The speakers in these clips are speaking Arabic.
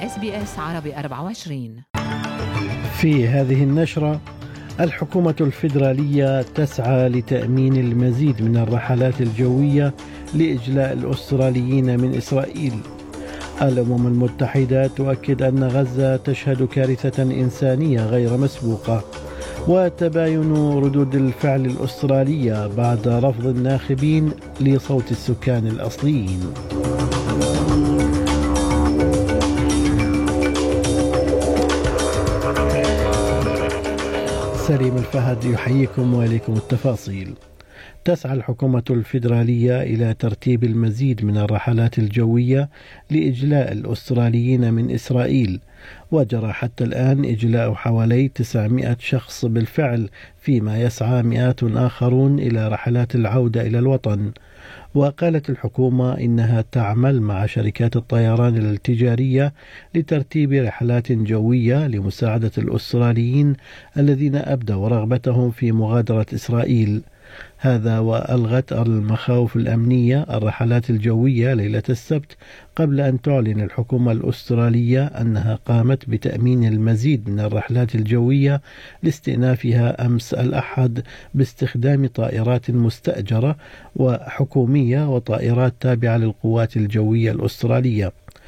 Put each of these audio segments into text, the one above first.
SBS عربي 24. في هذه النشرة: الحكومة الفيدرالية تسعى لتأمين المزيد من الرحلات الجوية لإجلاء الأستراليين من إسرائيل. الأمم المتحدة تؤكد أن غزة تشهد كارثة إنسانية غير مسبوقة. وتباين ردود الفعل الأسترالية بعد رفض الناخبين لصوت السكان الأصليين. سليم الفهد يحييكم وإليكم التفاصيل. تسعى الحكومة الفيدرالية إلى ترتيب المزيد من الرحلات الجوية لإجلاء الأستراليين من إسرائيل، وجرى حتى الآن إجلاء حوالي 900 شخص بالفعل، فيما يسعى مئات آخرون إلى رحلات العودة إلى الوطن. وقالت الحكومة إنها تعمل مع شركات الطيران التجارية لترتيب رحلات جوية لمساعدة الأستراليين الذين أبدوا رغبتهم في مغادرة إسرائيل. هذا وألغت المخاوف الأمنية الرحلات الجوية ليلة السبت، قبل أن تعلن الحكومة الأسترالية أنها قامت بتأمين المزيد من الرحلات الجوية لاستئنافها أمس الأحد باستخدام طائرات مستأجرة وحكومية وطائرات تابعة للقوات الجوية الأسترالية.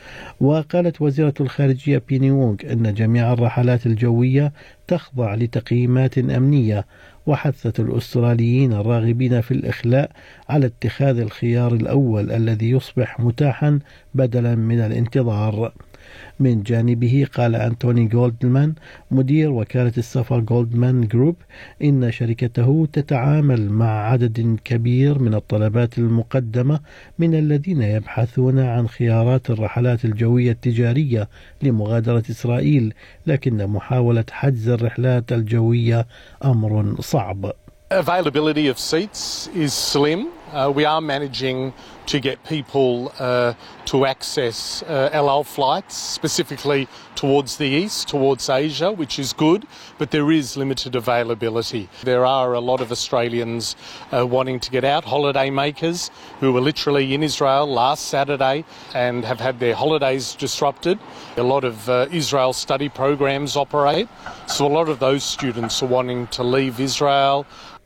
وقالت وزيرة الخارجية بيني وونغ أن جميع الرحلات الجوية تخضع لتقييمات أمنية، وحثت الأستراليين الراغبين في الإخلاء على اتخاذ الخيار الأول الذي يصبح متاحا بدلا من الانتظار. من جانبه قال أنتوني جولدمان مدير وكالة السفر جولدمان جروب إن شركته تتعامل مع عدد كبير من الطلبات المقدمة من الذين يبحثون عن خيارات الرحلات الجوية التجارية لمغادرة إسرائيل، لكن محاولة حجز الرحلات الجوية أمر صعب. Availability of seats is slim. We are managing to get people to access El Al flights, specifically towards the east, towards Asia, which is good, but there is limited availability. There are a lot of Australians wanting to get out, holiday makers who were literally in Israel last Saturday and have had their holidays disrupted. A lot of Israel study programs operate, so a lot of those students are wanting to leave Israel.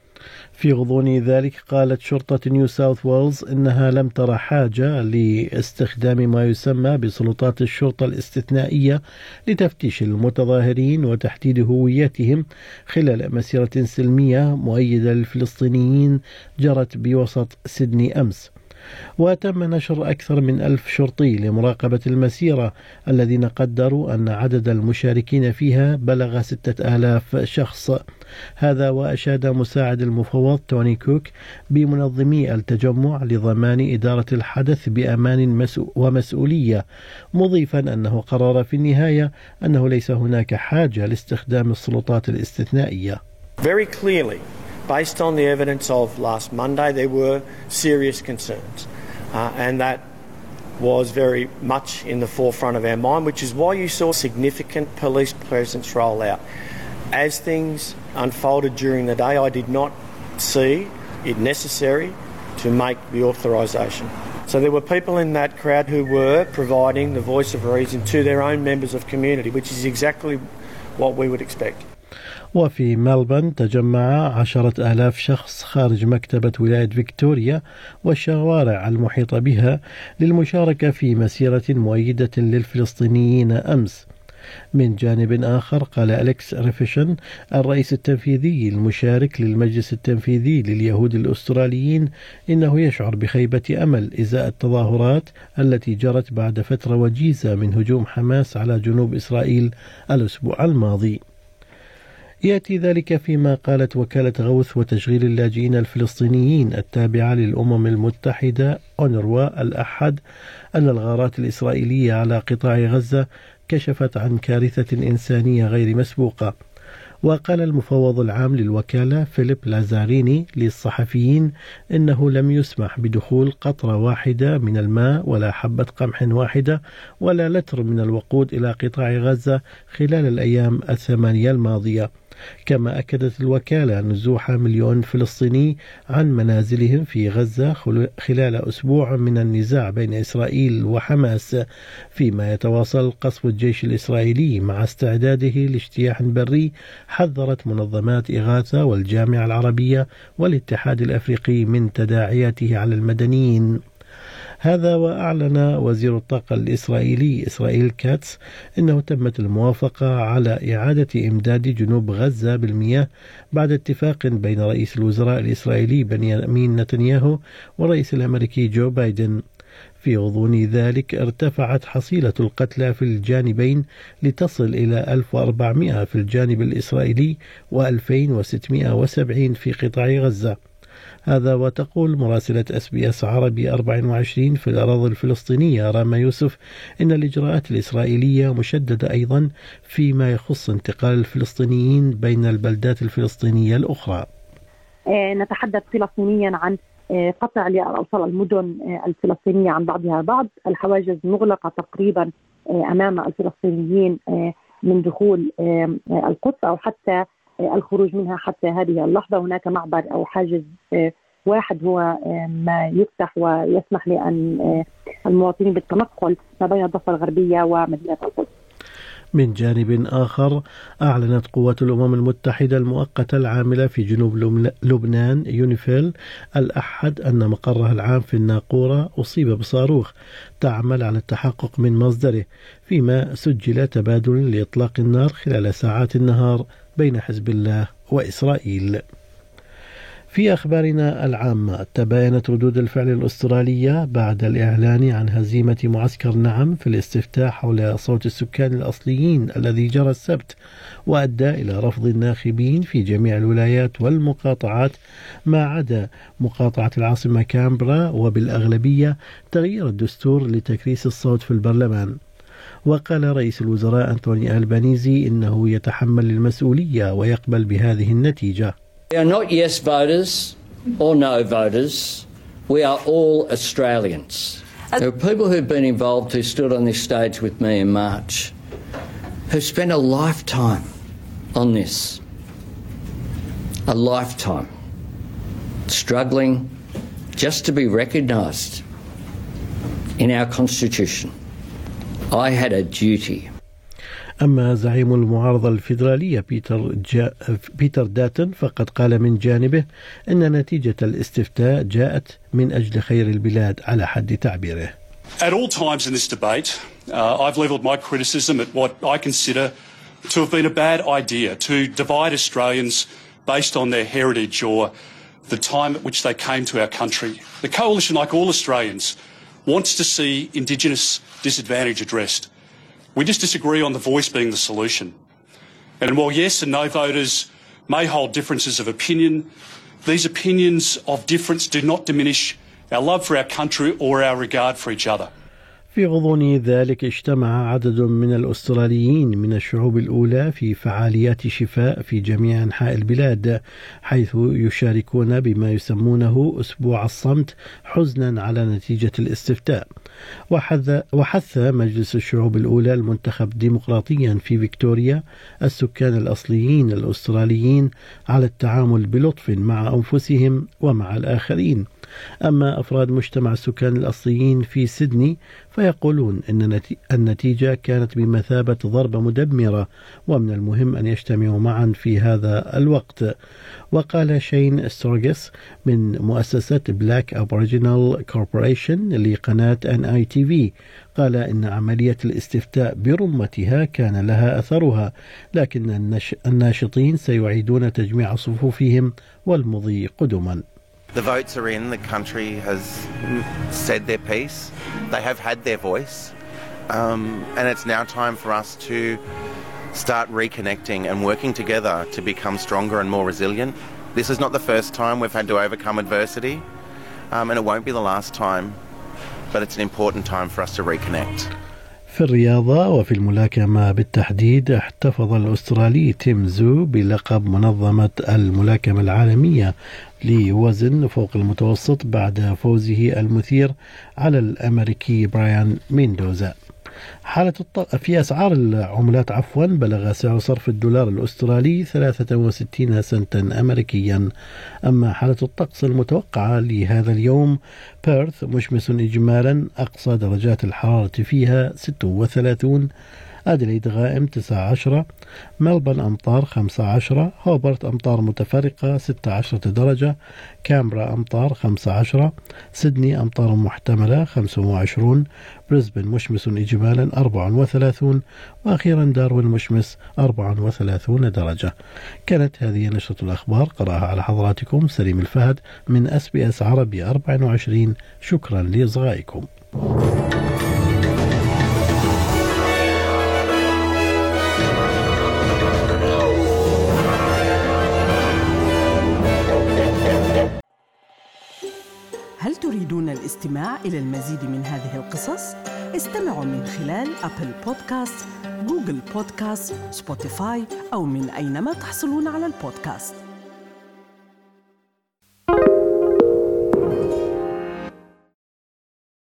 في غضون ذلك قالت شرطة نيو ساوث ويلز إنها لم ترى حاجة لاستخدام ما يسمى بسلطات الشرطة الاستثنائية لتفتيش المتظاهرين وتحديد هويتهم خلال مسيرة سلمية مؤيدة للفلسطينيين جرت بوسط سيدني أمس. وتم نشر أكثر من 1000 شرطي لمراقبة المسيرة، الذين قدروا أن عدد المشاركين فيها بلغ 6000 شخص. هذا وأشاد مساعد المفوض توني كوك بمنظمي التجمع لضمان إدارة الحدث بأمان ومسؤولية، مضيفا أنه قرر في النهاية أنه ليس هناك حاجة لاستخدام السلطات الاستثنائية. Very clearly, based on the evidence of last Monday, there were serious concerns, and that was very much in the forefront of our mind, which is why you saw significant police presence roll out. As things unfolded during the day, I did not see it necessary to make the authorisation. So there were people in that crowd who were providing the voice of reason to their own members of community, which is exactly what we would expect. وفي ملبورن تجمع 10,000 شخص خارج مكتبة ولاية فيكتوريا والشوارع المحيطة بها للمشاركة في مسيرة مؤيدة للفلسطينيين أمس. من جانب آخر قال أليكس ريفيشن الرئيس التنفيذي المشارك للمجلس التنفيذي لليهود الأستراليين إنه يشعر بخيبة أمل إزاء التظاهرات التي جرت بعد فترة وجيزة من هجوم حماس على جنوب إسرائيل الأسبوع الماضي. يأتي ذلك فيما قالت وكالة غوث وتشغيل اللاجئين الفلسطينيين التابعة للأمم المتحدة أونروا الأحد أن الغارات الإسرائيلية على قطاع غزة كشفت عن كارثة إنسانية غير مسبوقة. وقال المفوض العام للوكالة فيليب لازاريني للصحفيين إنه لم يسمح بدخول قطرة واحدة من الماء ولا حبة قمح واحدة ولا لتر من الوقود إلى قطاع غزة خلال الأيام 8 الماضية. كما أكدت الوكالة نزوح 1,000,000 فلسطيني عن منازلهم في غزة خلال أسبوع من النزاع بين إسرائيل وحماس، فيما يتواصل قصف الجيش الإسرائيلي مع استعداده لاجتياح بري. حذرت منظمات إغاثة والجامعة العربية والاتحاد الأفريقي من تداعياته على المدنيين. هذا وأعلن وزير الطاقة الإسرائيلي إسرائيل كاتس أنه تمت الموافقة على إعادة إمداد جنوب غزة بالمياه بعد اتفاق بين رئيس الوزراء الإسرائيلي بنيامين نتنياهو والرئيس الأمريكي جو بايدن. في غضون ذلك ارتفعت حصيلة القتلى في الجانبين لتصل إلى 1400 في الجانب الإسرائيلي و2670 في قطاع غزة. هذا وتقول مراسلة SBS عربي 24 في الأراضي الفلسطينية راما يوسف إن الإجراءات الإسرائيلية مشددة أيضا فيما يخص انتقال الفلسطينيين بين البلدات الفلسطينية الأخرى. نتحدث فلسطينيا عن قطع لأوصال المدن الفلسطينية عن بعضها بعض. الحواجز مغلقة تقريبا أمام الفلسطينيين من دخول القدس أو حتى الخروج منها حتى هذه اللحظة. هناك معبر أو حاجز واحد هو ما يفتح ويسمح لأن المواطنين بالتنقل ما بين الضفة الغربية ومدينة القدس. من جانب آخر، أعلنت قوات الأمم المتحدة المؤقتة العاملة في جنوب لبنان يونيفيل الأحد أن مقرها العام في الناقورة أصيب بصاروخ تعمل على التحقق من مصدره، فيما سجل تبادل لإطلاق النار خلال ساعات النهار بين حزب الله وإسرائيل. في أخبارنا العامة، تباينت ردود الفعل الأسترالية بعد الإعلان عن هزيمة معسكر نعم في الاستفتاء حول صوت السكان الأصليين الذي جرى السبت، وأدى إلى رفض الناخبين في جميع الولايات والمقاطعات ما عدا مقاطعة العاصمة كامبرا، وبالأغلبية تغيير الدستور لتكريس الصوت في البرلمان. وقال رئيس الوزراء أنتوني ألبانيزي إنه يتحمل المسؤولية ويقبل بهذه النتيجة. We are not yes voters or no voters. We are all Australians. There are people who've been involved who stood on this stage with me in March, who spent a lifetime on this. A lifetime. Struggling just to be recognised in our constitution. I had a duty. أما زعيم المعارضة الفيدرالية بيتر داتن فقد قال من جانبه أن نتيجة الاستفتاء جاءت من أجل خير البلاد على حد تعبيره. At all times in this debate, I've levelled my criticism at what I consider to have been a bad idea, to divide Australians based on their heritage or the time at which they came to our country. The Coalition, like all Australians, wants to see Indigenous disadvantage addressed. We just disagree on the voice being the solution. And while yes and no voters may hold differences of opinion, these opinions of difference do not diminish our love for our country or our regard for each other. في غضون ذلك اجتمع عدد من الأستراليين من الشعوب الأولى في فعاليات شفاء في جميع أنحاء البلاد، حيث يشاركون بما يسمونه أسبوع الصمت حزنا على نتيجة الاستفتاء. وحث مجلس الشعوب الأولى المنتخب ديمقراطيا في فيكتوريا السكان الأصليين الأستراليين على التعامل بلطف مع أنفسهم ومع الآخرين. أما أفراد مجتمع السكان الأصليين في سيدني فيقولون أن النتيجة كانت بمثابة ضربة مدمرة، ومن المهم أن يجتمعوا معا في هذا الوقت. وقال شين ستورغس من مؤسسة بلاك أبوريجينال كوربوريشن لقناة NITV قال إن عملية الاستفتاء برمتها كان لها أثرها، لكن الناشطين سيعيدون تجميع صفوفهم والمضي قدما. The votes are in, the country has said their piece, they have had their voice, and it's now time for us to start reconnecting and working together to become stronger and more resilient. This is not the first time we've had to overcome adversity, and it won't be the last time, but it's an important time for us to reconnect. في الرياضة وفي الملاكمة بالتحديد احتفظ الأسترالي تيم زو بلقب منظمة الملاكمة العالمية لوزن فوق المتوسط بعد فوزه المثير على الأمريكي برايان ميندوزا. في أسعار العملات بلغ سعر صرف الدولار الأسترالي 63 سنتا أمريكيا. أما حالة الطقس المتوقعة لهذا اليوم: بيرث مشمس إجمالا، أقصى درجات الحرارة فيها 36، أدليد غائم 19، ملبن أمطار 15، هوبرت أمطار متفرقة 16 درجة، كامبرا أمطار 15، سيدني أمطار محتملة 25، بريسبن مشمس إجمالا 34، وأخيرا داروين مشمس 34 درجة. كانت هذه نشرة الأخبار، قرأها على حضراتكم سليم الفهد من SBS عربي 24. شكرا لإصغائكم. هل تريدون الاستماع إلى المزيد من هذه القصص؟ استمعوا من خلال أبل بودكاست، جوجل بودكاست، سبوتيفاي أو من أينما تحصلون على البودكاست.